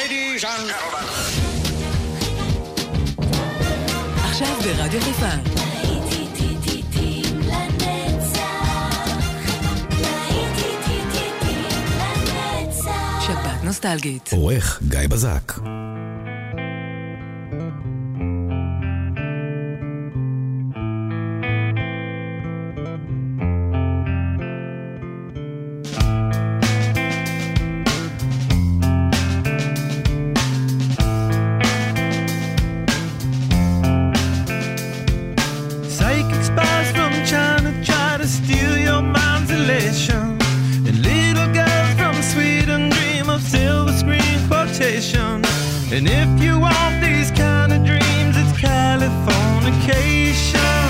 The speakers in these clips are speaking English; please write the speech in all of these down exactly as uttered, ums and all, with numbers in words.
Ladies and gentlemen. עכשיו ברדיו חיפה. שבת נוסטלגית. עורך גיא בזק. And if you want these kind of dreams, it's Californication.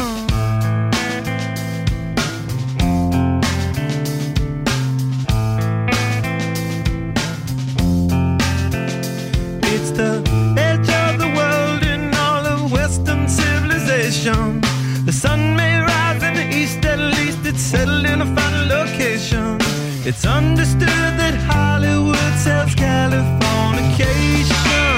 It's the edge of the world in all of Western civilization. The sun may rise in the east, at least it's settled in a final location. It's understood that Hollywood sells Californication.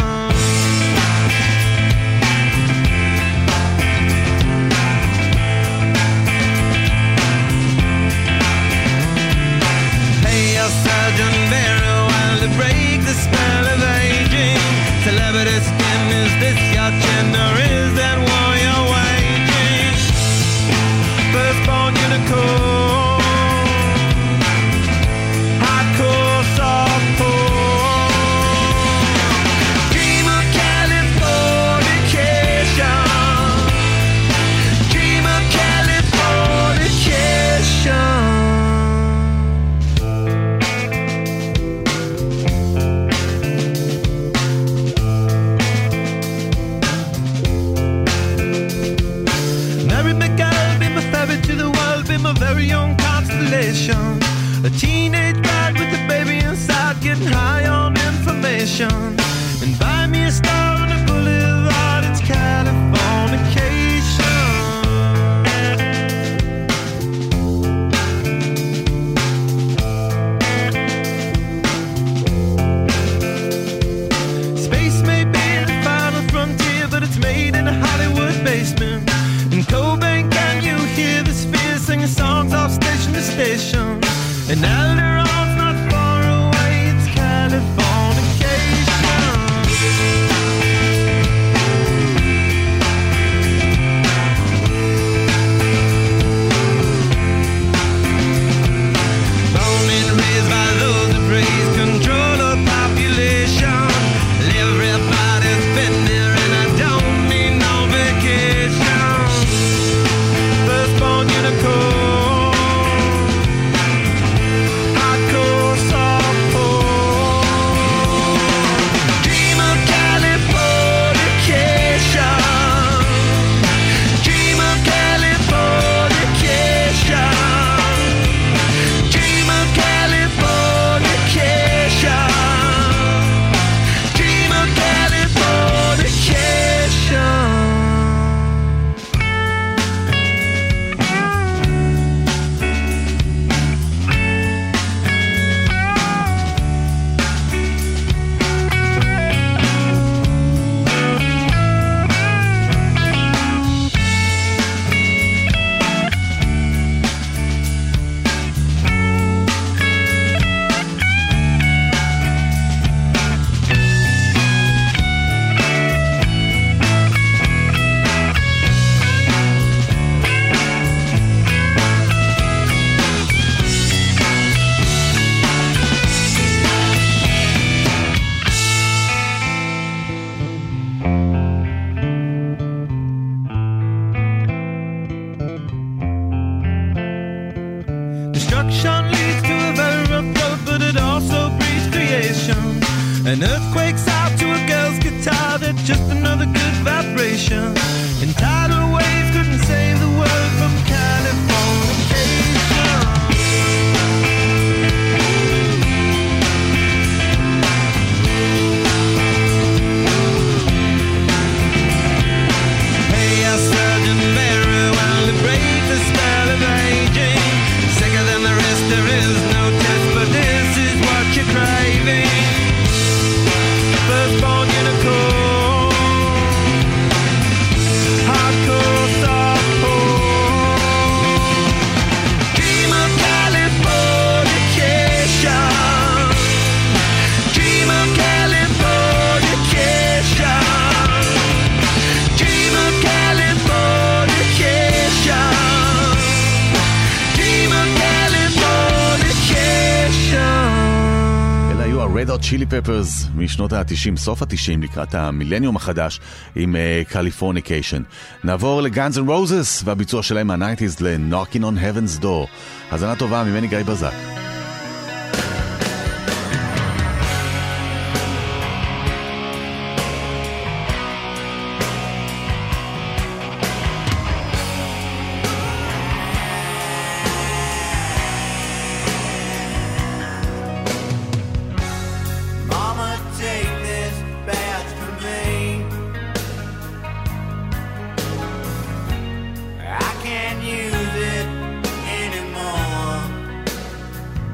Surgeon very well to break the spell of aging. Celebrity skin, is this your chin or is that war you're waging? Firstborn unicorn, hardcore softcore. Dream of Californication. Dream of Californication. To the world, be my very own constellation. A teenage bride with a baby inside, getting high on information. And buy me a star on a boulevard, it's Californication. Space may be the final frontier, but it's made in a Hollywood basement. In Cobain, can you hear the spheres singing songs off station to station? And Alderon's not far away, it's Californication. Born and raised by those that praise control of population. Everybody's been there and I don't need no vacation. Firstborn unicorn, hardcore softcore. Dream of Californication. Dream of Californication. Dream of Californication. Dream of Californication. Destruction leads to a very rough road, but it also breeds creation. An earthquake's out to a girl's guitar, that's just another good vibration. And tidal waves couldn't save the world from Californication. Hey, a surgeon very well to break the spell of aging. Sicker than the rest, there is no test, but this is what you're craving. But צ'ילי פפרס משנות ה-תשעים, סוף ה-תשעים, לקראת המילניום החדש עם קליפורניקיישן. Uh, נעבור לגאנס אנד רוזס והביצוע שלהם מה-תשעים ל-Knocking on Heaven's Door. האזנה טובה ממני גיא בזק. I can't use it anymore.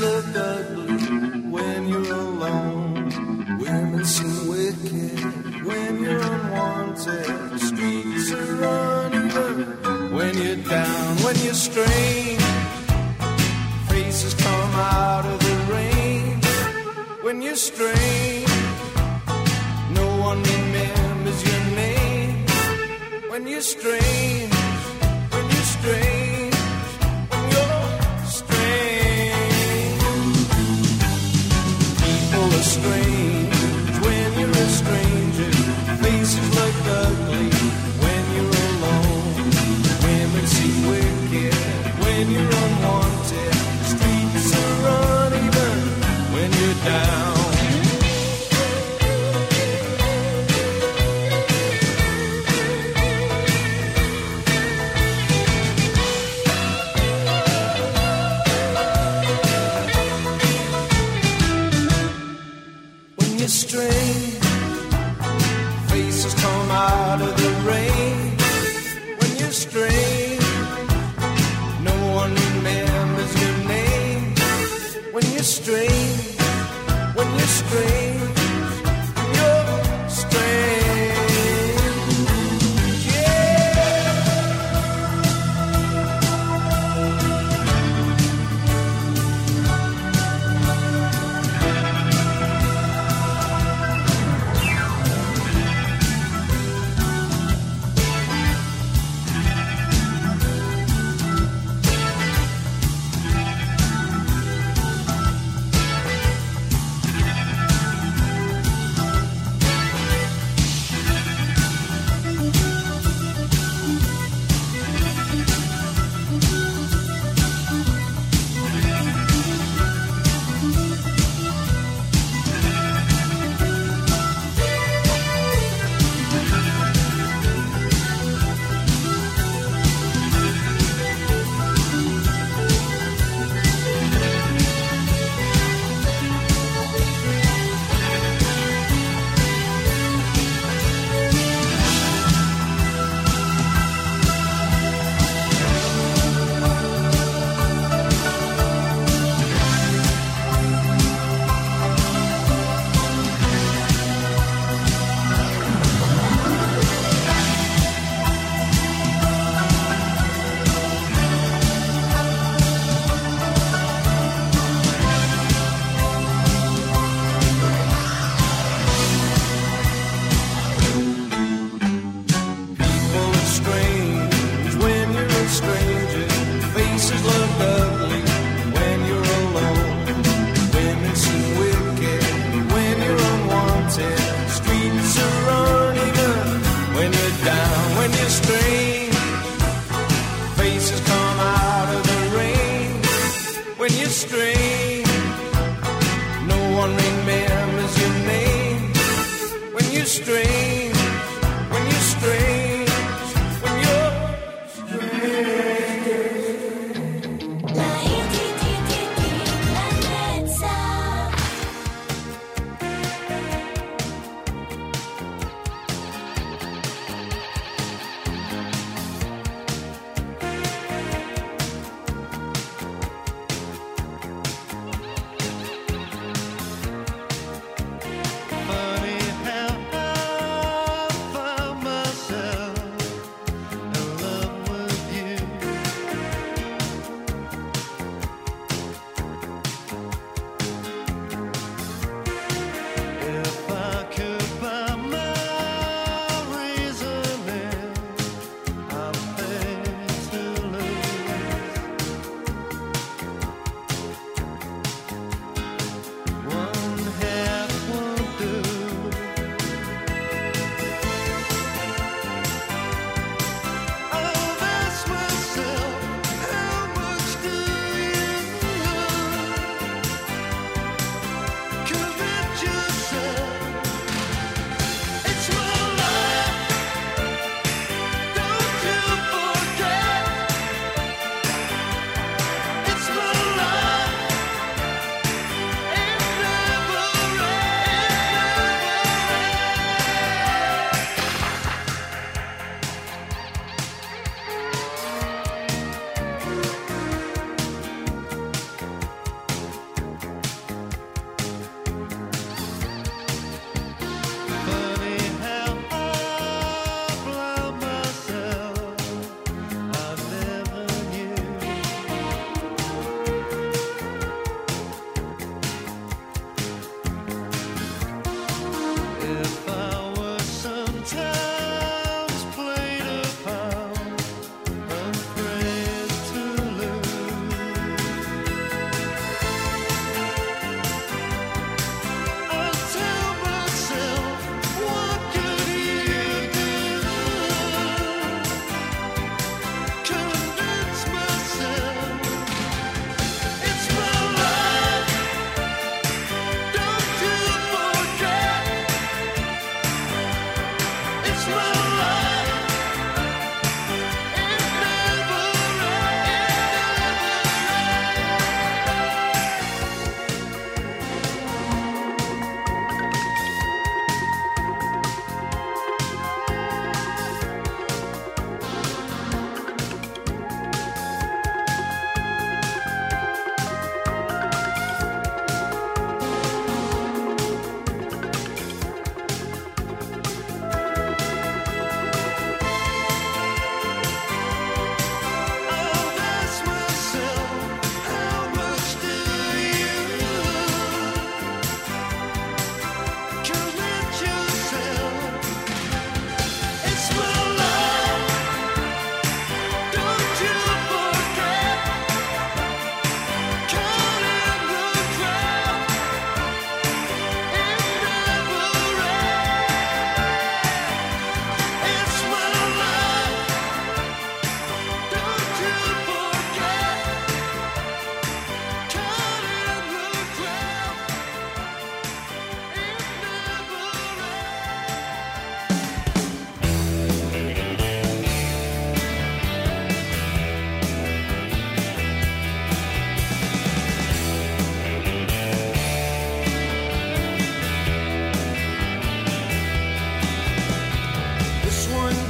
look ugly when you're alone. Women seem wicked when you're unwanted. Streets are uneven when you're down, when you're strange. Faces come out of the rain when you're strange. No one remembers your name when you're strange. When you're strange. When you're strange. People are strange when you're a stranger. Faces look ugly when you're alone. Women seem wicked when you're unwanted. Streets are uneven when you're down. When you're strange, faces come out of the rain. When you're strange, no one remembers your name. When you're strange, when you're strange, you're strange. Yeah.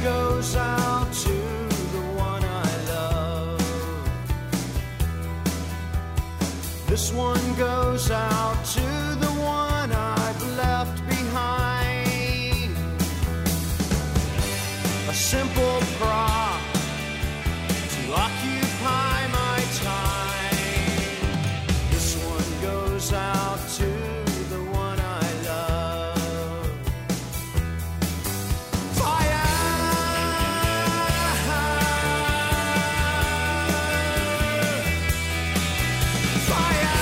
goes out to the one I love. This one goes out to the one I've left behind. A simple prop to occupy my time. This one goes out to the one I love. Fire! Fire!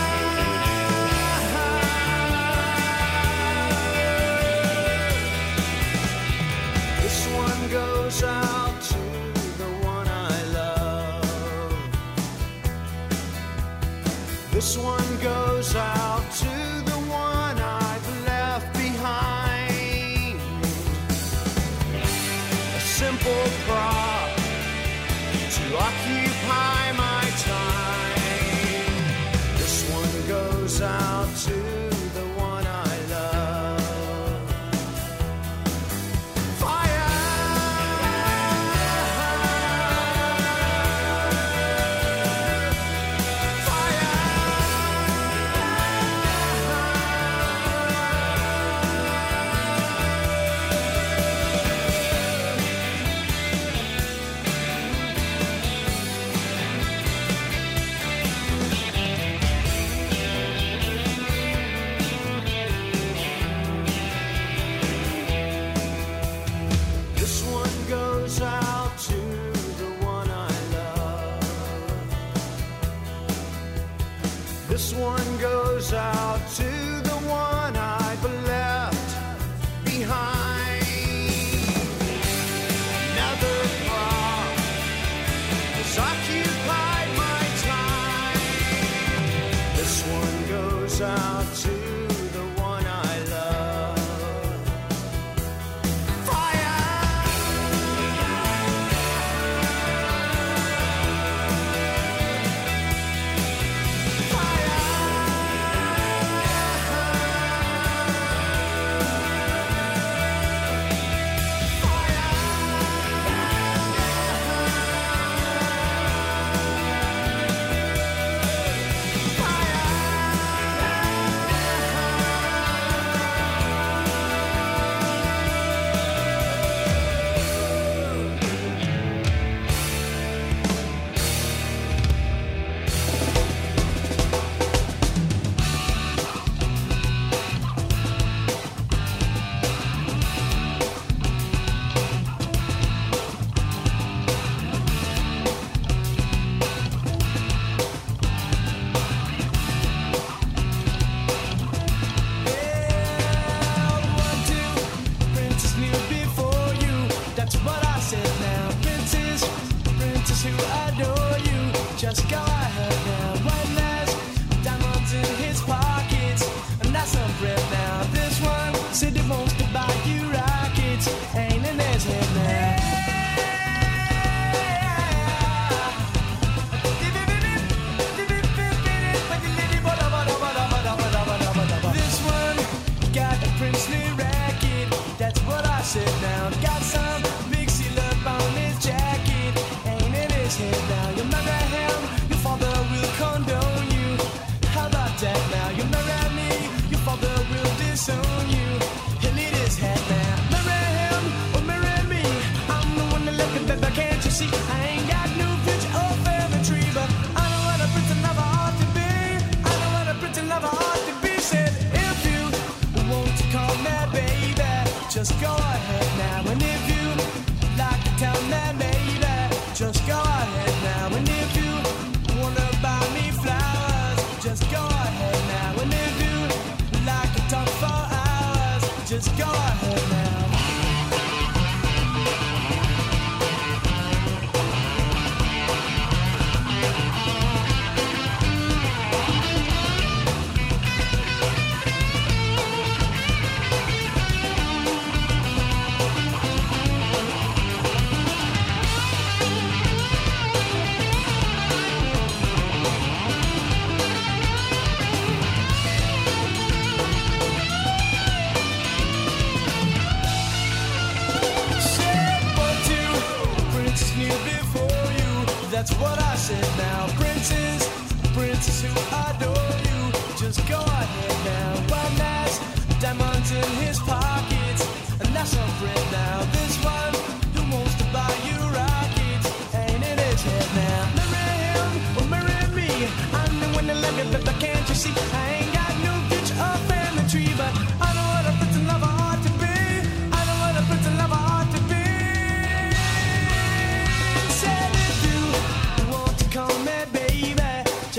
This one goes out to the one I love. This one goes out to the one I've left behind. A simple prop to occupy my time. This one goes out to the one I love. Fire!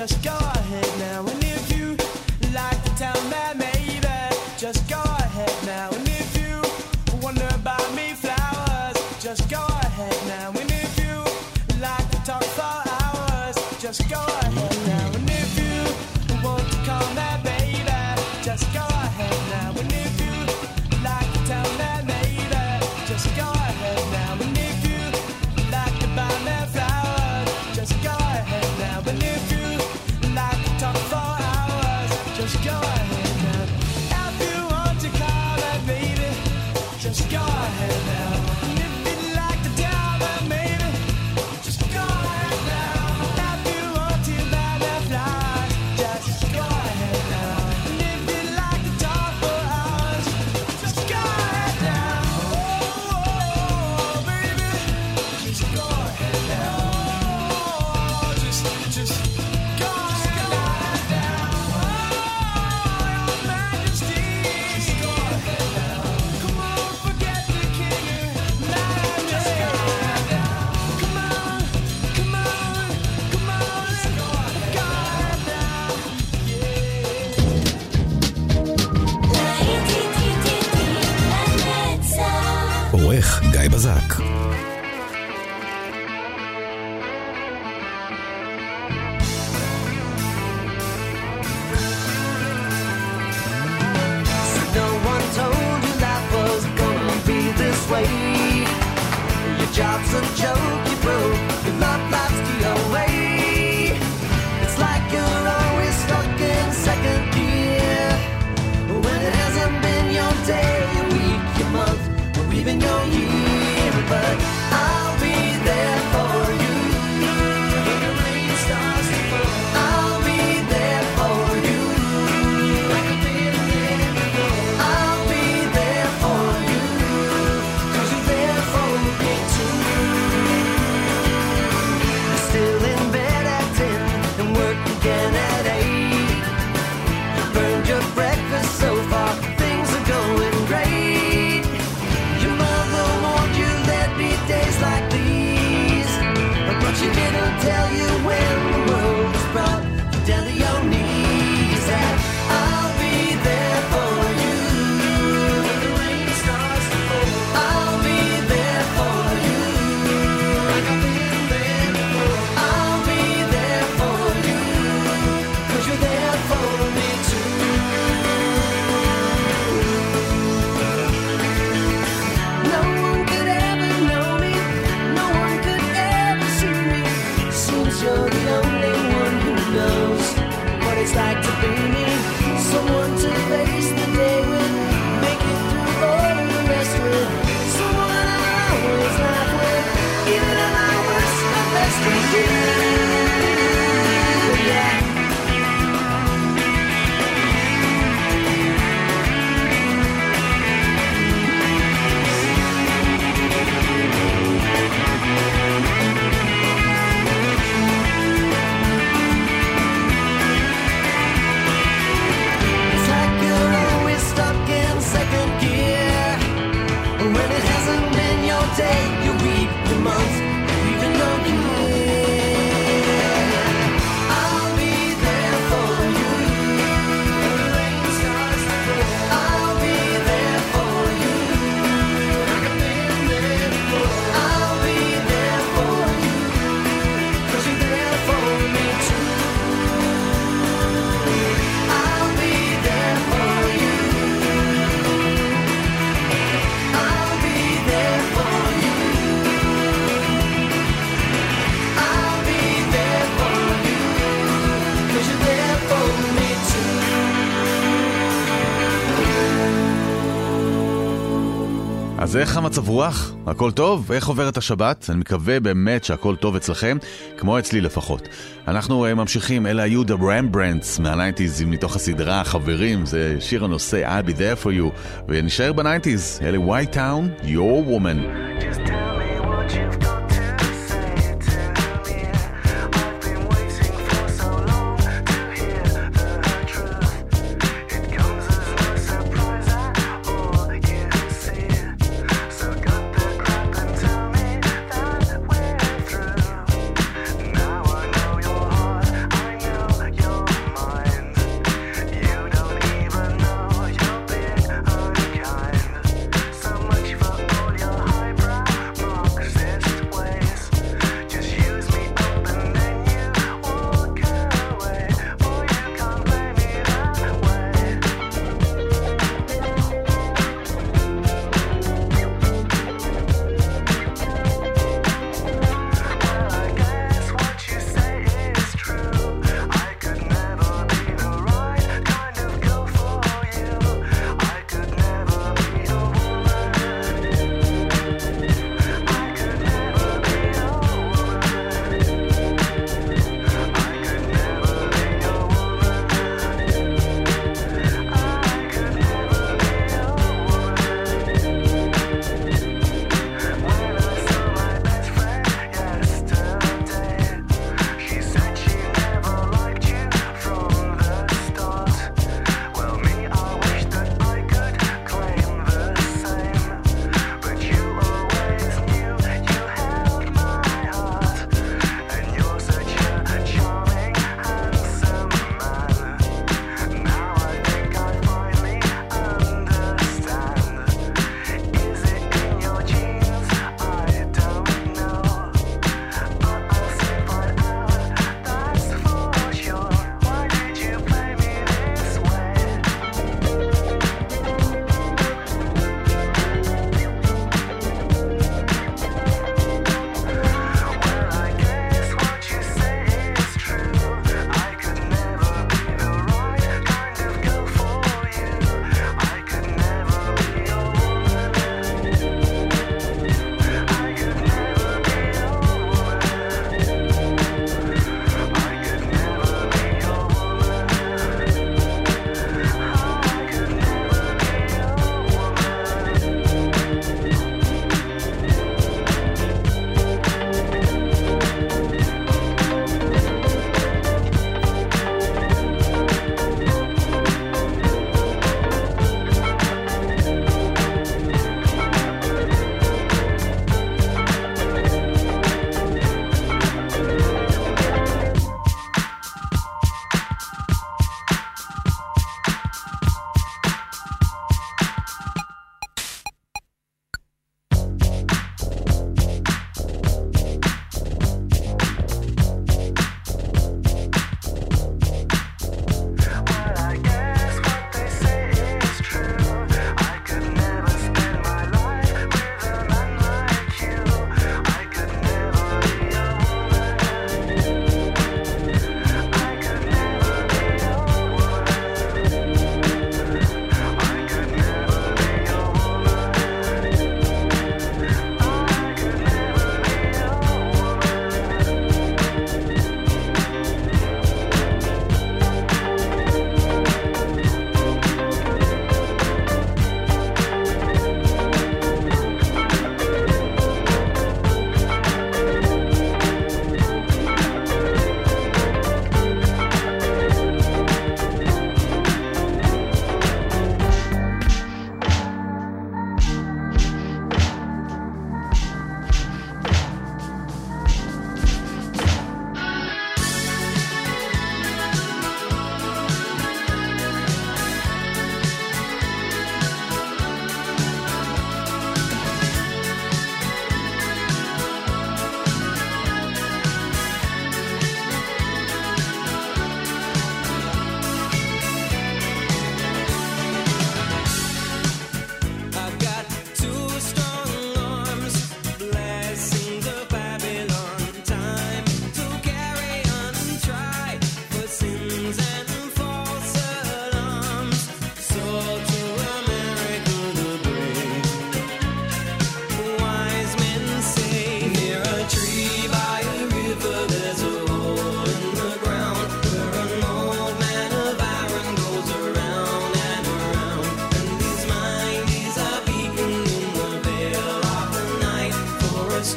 just go ahead now. And if you like to tell me maybe, just go ahead now. And if you wonder about me flowers, just go ahead now. And if you like to talk for hours, just go ahead now. And if you want to call me baby, just go ahead now. And if you like to tell me maybe, just go ahead now. And if you like to buy me flowers, just go ahead now. And if you like to talk for hours, just go ahead now. If you want to call me baby, just go ahead now. And if you like to tell me maybe, just go ahead now. If you want to buy me flowers, just go ahead now. And if you like to talk for hours, just go ahead now. Oh, baby, just go ahead now. Oh, just, just go ahead now. Oh, Your Majesty, just go ahead now. Come on, forget the king and majesty. Come on, come on, come on, let's go ahead now. עורך גיא בזק. No one told you life was gonna be this way. Your job's a joke, you broke. Your love life's the away. It's like you're always stuck in second gear. When it hasn't been your day, your week, your month, or even your year. But I'll be there for you. When the rain starts to fall, I'll be there for you. Like I've been there before. I'll be there for you. 'Cause you're there for me too. You're still in bed at ten and work again at eight. You burned your breakfast so far, things are going great. Your mother warned you there'd be days like these, but she didn't tell you when the world was brought down to your knees. That I'll be there for you. When the rain starts to fall, I'll be there for you. Like I've been there before. I'll be there for you. 'Cause you're there for me too. No one could ever know me. No one could ever see me. Seems you're the only one who knows what it's like to be me. Someone to face the day with, make it through all of the rest with. Someone I always laugh with, even at my worst, my best with you. Yeah. It's like you're always stuck in second gear. When it hasn't been your day, your week, your month, or even your year. I'll be there for you. When the rain starts to fall, I'll be there for you. Like I've been there before. I'll be there for you. 'Cause you're there for me too. I'll be there for you. I'll be there for you. I'll be there for you. 'Cause you're there for me too. אז איך המצב רוח? הכל טוב? איך עוברת השבת? אני מקווה באמת שהכל טוב אצלכם, כמו אצלי לפחות. אנחנו uh, ממשיכים, אלה היו The Rembrandts מה-תשעים מתוך הסדרה חברים, זה שיר הנושא I'll be there for you, ונשאר ב-תשעים, אלה White Town, Your Woman. Just tell me what you've got to say to me. I've been waiting for so long to hear the truth. It comes as no surprise at all, you see. So cut the crap and tell me that we're through. Now I know your heart, I know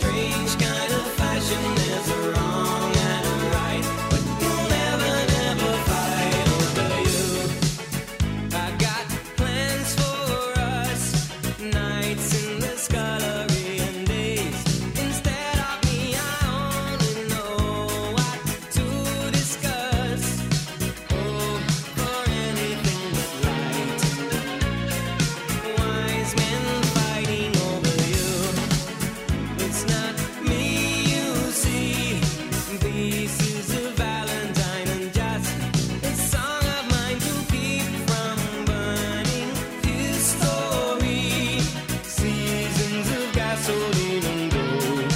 strange kind of fashion. There's a wrong and a right, but you'll never, never fight over you. I got plans for us, nights in the scullery and days. Instead of me, I only know what to discuss. Oh, for anything but light. Wise men fighting over you. It's not me you see. This is a valentine and just a song of mine to keep from burning his story. Seasons of gasoline and gold.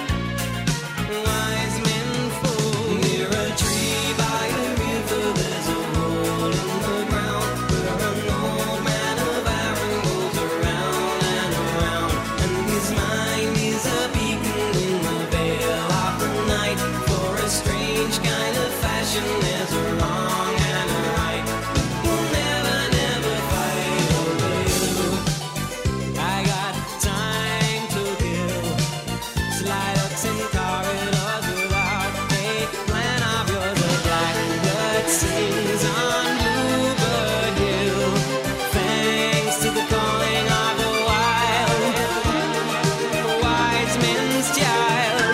Wise men fall near a tree by a river. There's a hole in the ground where an old man of iron goes around and around, and his mind is a beacon in the veil of the night. For a strange kind of fashion, there's a wrong and a right. You'll never, never fight over you. I got time to kill. Slide ups in corridors without a plan of yours. A blackbird sings on Bluebird Hill. Thanks to the calling of the wild, wise men's child.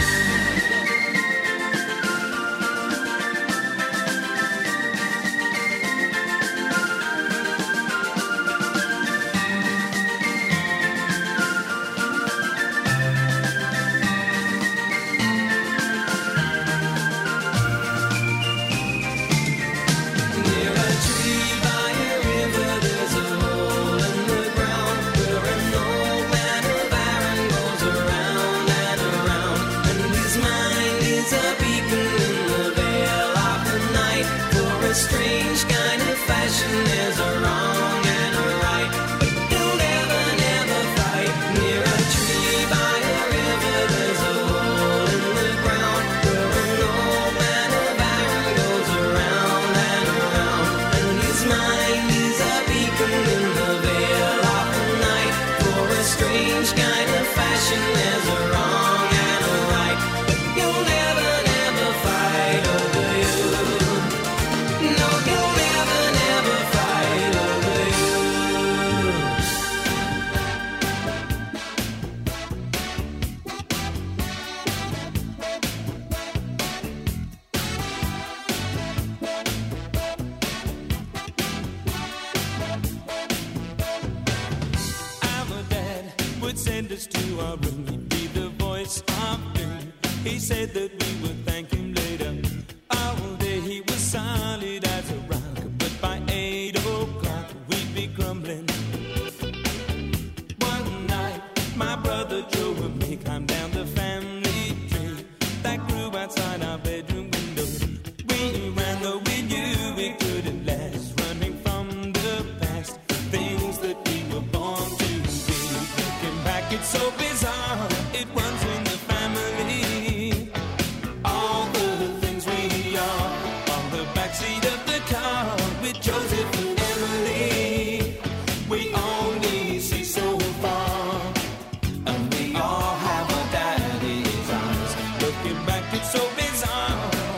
Near a tree by a river, there's a hole in the ground where an old man of iron goes around and around, and his mind is a beacon in the veil of the night. For a strange kind of fashion, there's a wrong and a right, but you'll never, never fight. Near a tree by a river, there's a hole in the ground where an old man of iron goes around and around, and his mind is a beacon in the veil of the night. For a strange kind of fashion, there's a wrong and a right, but you'll never, never fight over you. No, you'll never, never fight over you. Our dad would send us to our room. He'd be the voice of doom. He said that we would thank him later. All day he was solid as a rock, but by eight o'clock we'd be crumbling. One night, my brother Joe and me climbed down the family tree that grew outside our bedroom window. We ran though we knew we couldn't last, running from the past, things that we were born to be. Looking back, it's so bizarre, it runs in the family. All the things we are on the backseat of the car with Joseph and Emily. We only see so far, and we all have our daddy's eyes. Looking back, it's so bizarre.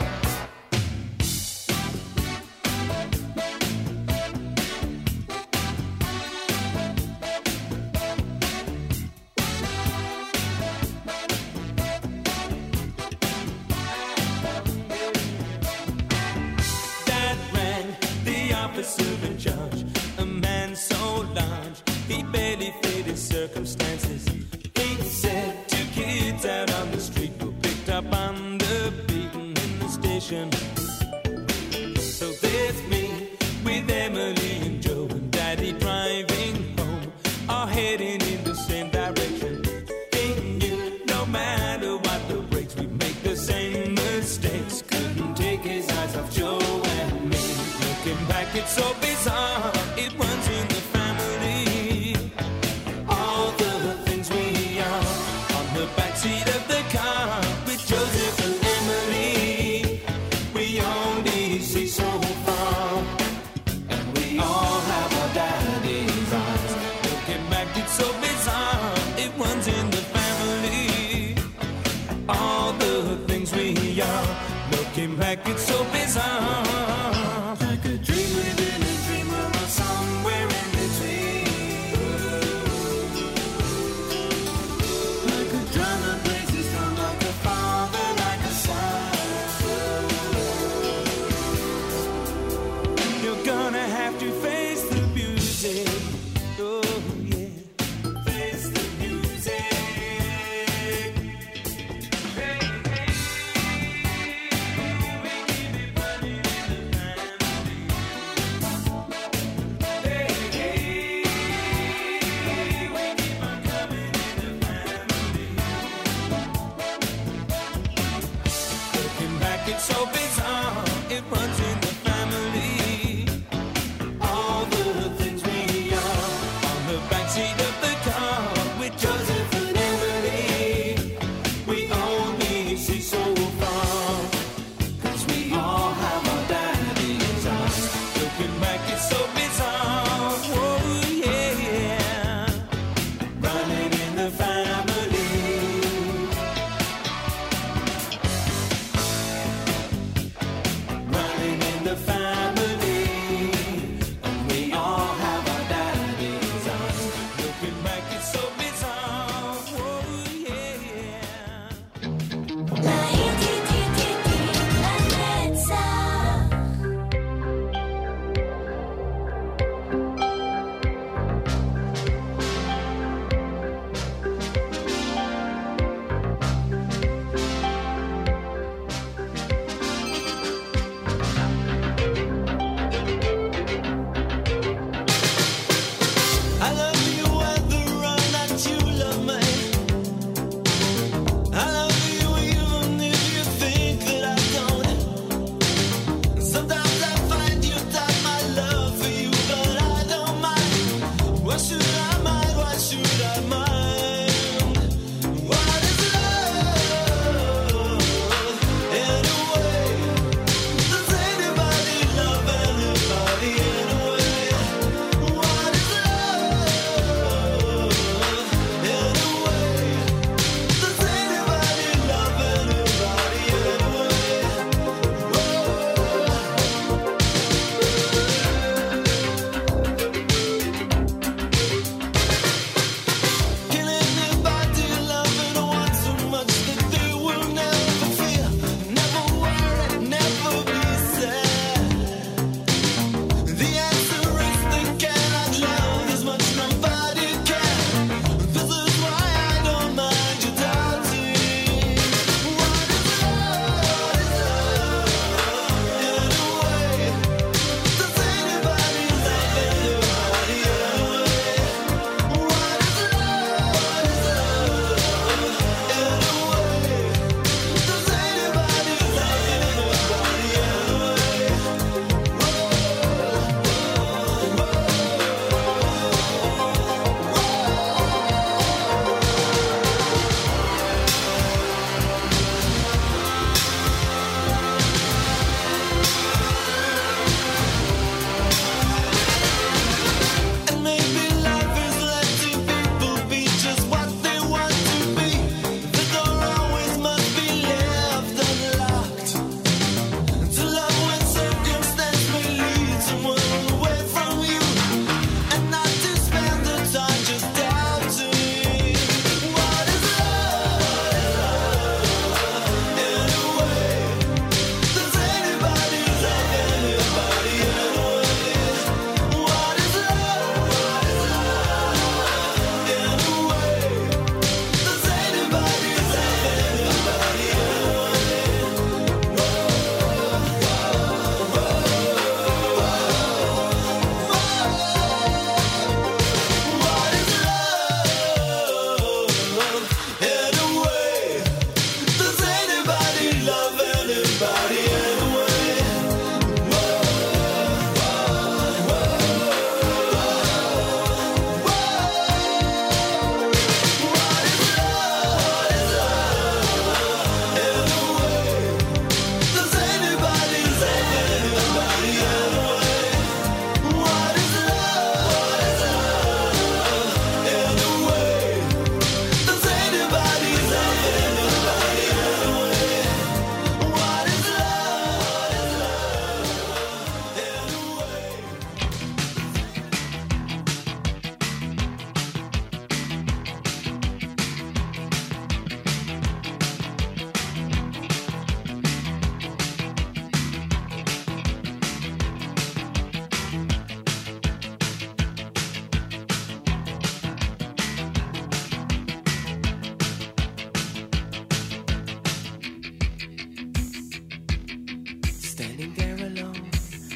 Dad ran the officer in charge, a man so large he barely fit his circumstances. He said two kids out on the street were picked up on the beaten in the station. So there's me with Emily and Joe and Daddy driving home, all heading in the same direction. He knew no matter what the brakes, we'd make the same mistakes. Couldn't take his eyes off Joe and me. Looking back, it's so bizarre, it runs in the family. All the things we are on the backseat of the car with Joseph and Emily. We only see so far, and we all have our daddy's eyes. Looking back, it's so bizarre, it runs in the family. like it's so bizarre. Like a dream within a dream or somewhere in between. Like a drum that plays its drum, like a father, like a son. You're gonna have to face the music. Oh yeah, face the music. Hey, hey, when you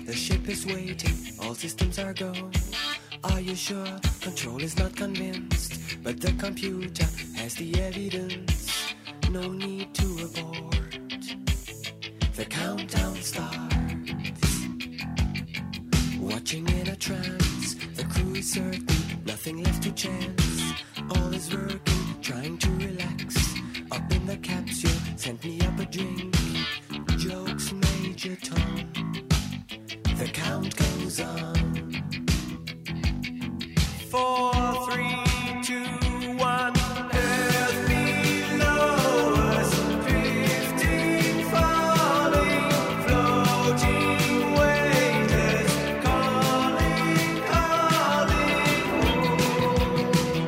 The ship is waiting, all systems are go. Are you sure? Control is not convinced, but the computer has the evidence. No need to abort. The countdown starts. Watching in a trance, the crew is certain, nothing left to chance. All is working, trying to relax. Up in the capsule, sent me up a drink. Jokes, Major Tom. The count goes on. Four, three, two, one. Earth below us, drifting, falling, floating, weightless, calling, calling home.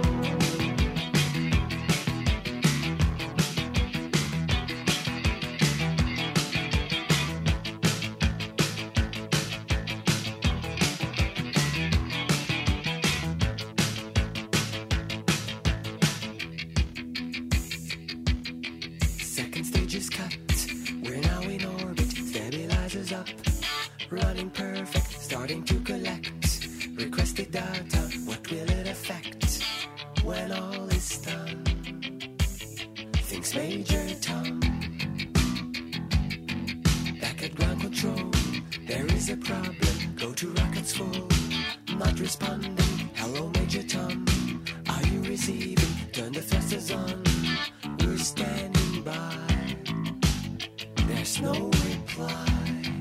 Second stage is cut. We're now in orbit. Stabilizers up. Running perfect. Starting to collect. Requested data. What will it affect when all is done? Thinks Major Tom. Back at ground control. There is a problem. Go to rockets full. Not responding. Hello, Major Tom. Are you receiving? Turn the thrusters on. We're standing by. There's no reply.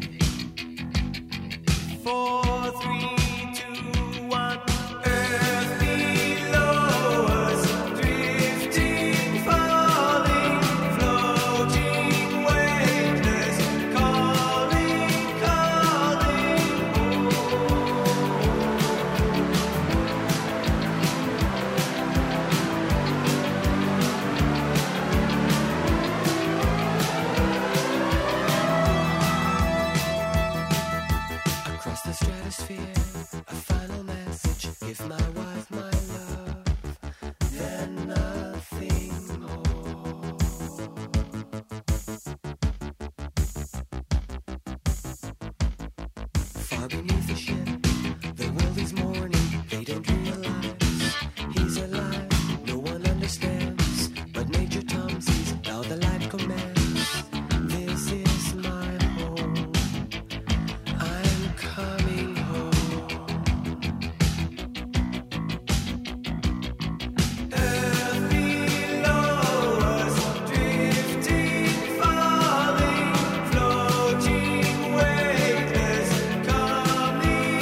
Four, three, two, one. Earth below us, drifting, falling, floating, weightless, calling, calling across the stratosphere, a final message. Give my wife my love, then nothing more. Far beneath the ship, the world is mourning. They don't realize he's alive. No one understands, but Major Tom sees now the light commands. This is my home. I'm coming home. Earth below us, drifting, falling, floating, weightless, coming,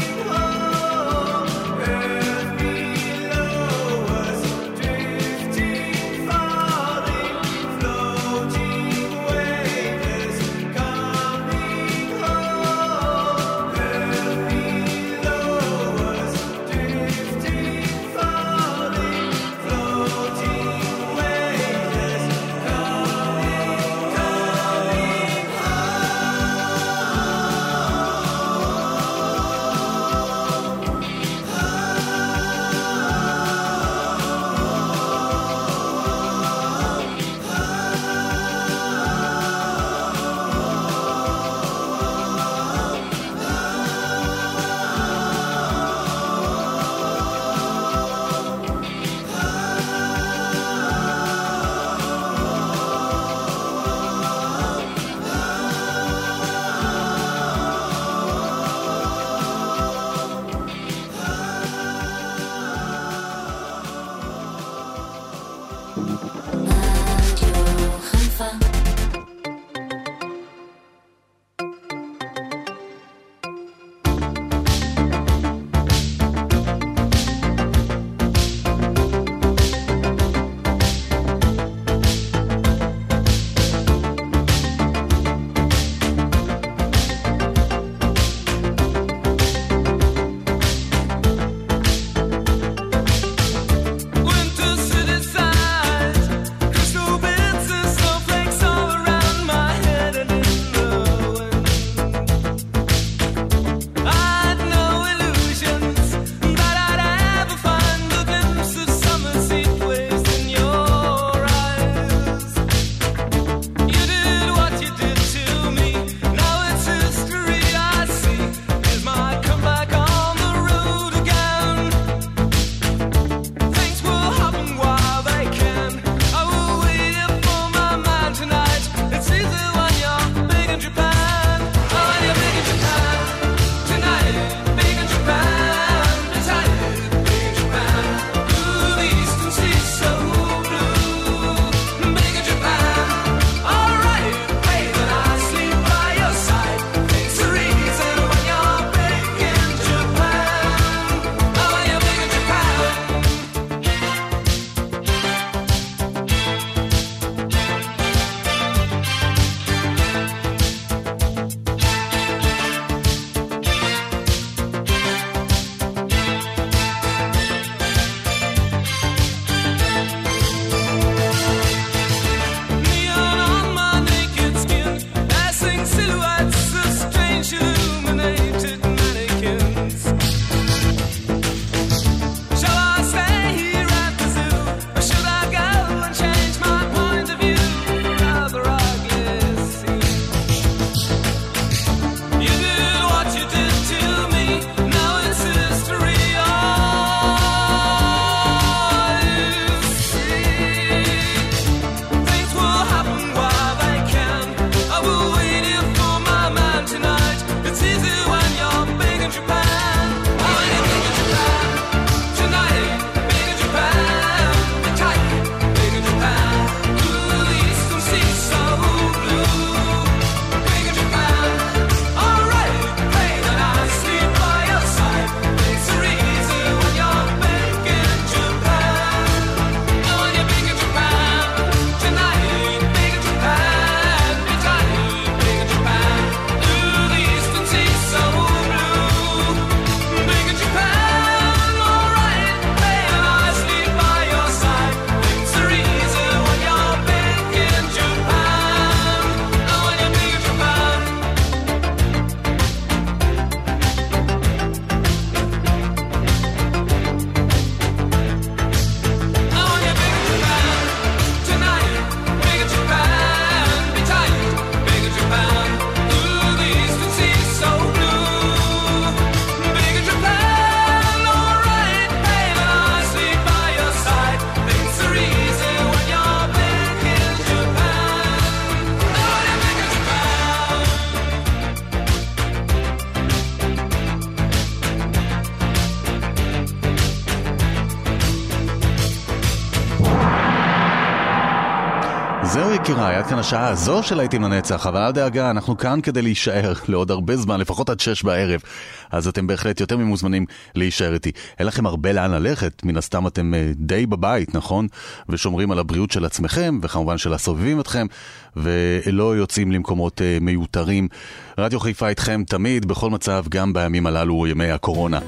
זהו יקירה, עד כאן השעה הזו של להיטים לנצח, אבל אל דאגה, אנחנו כאן כדי להישאר לעוד הרבה זמן, לפחות עד שש בערב, אז אתם בהחלט יותר ממוזמנים להישאר איתי. אין לכם הרבה לאן ללכת, מן הסתם אתם די בבית, נכון? ושומרים על הבריאות של עצמכם, וכמובן של הסובבים אתכם, ולא יוצאים למקומות מיותרים. רדיו חיפה איתכם תמיד, בכל מצב, גם בימים הללו, ימי הקורונה.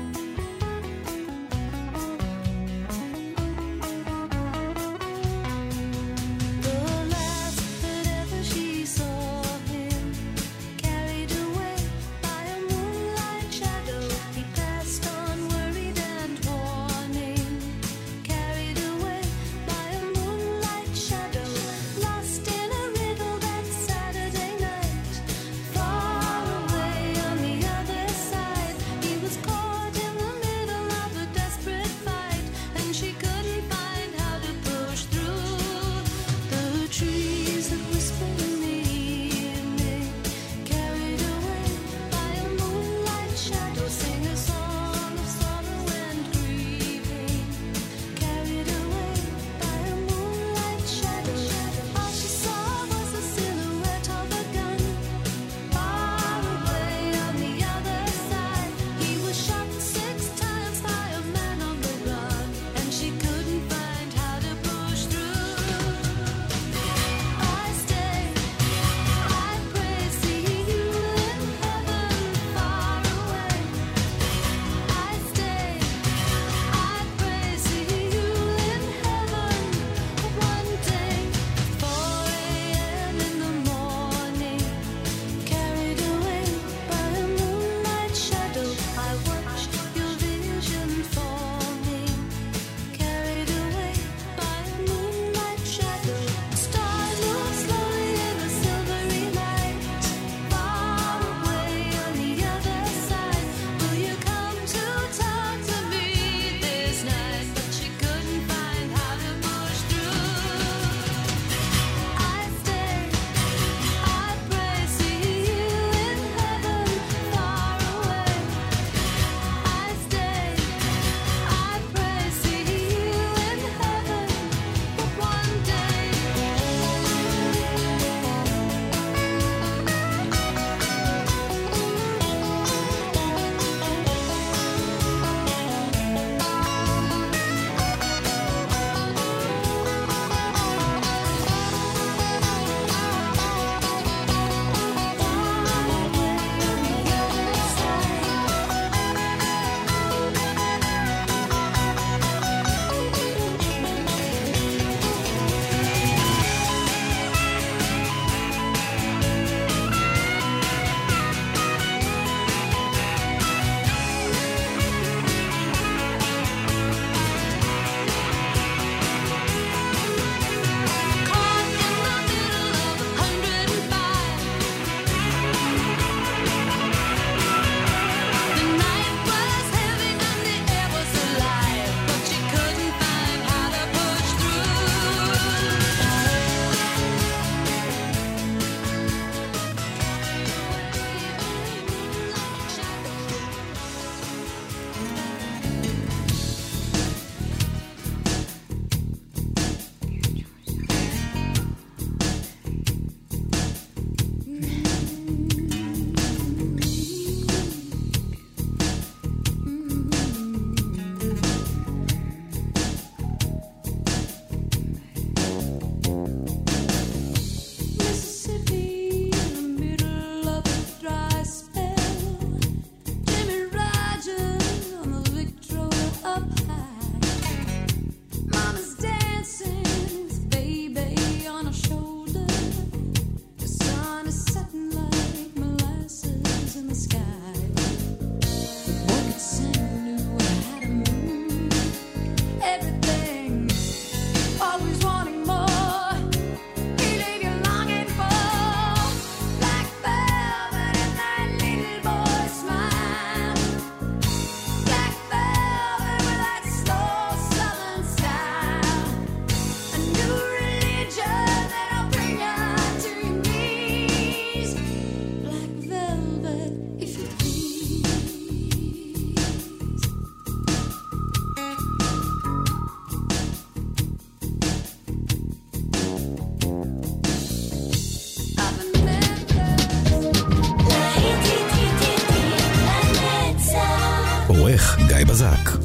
Caught in the גיא בזק.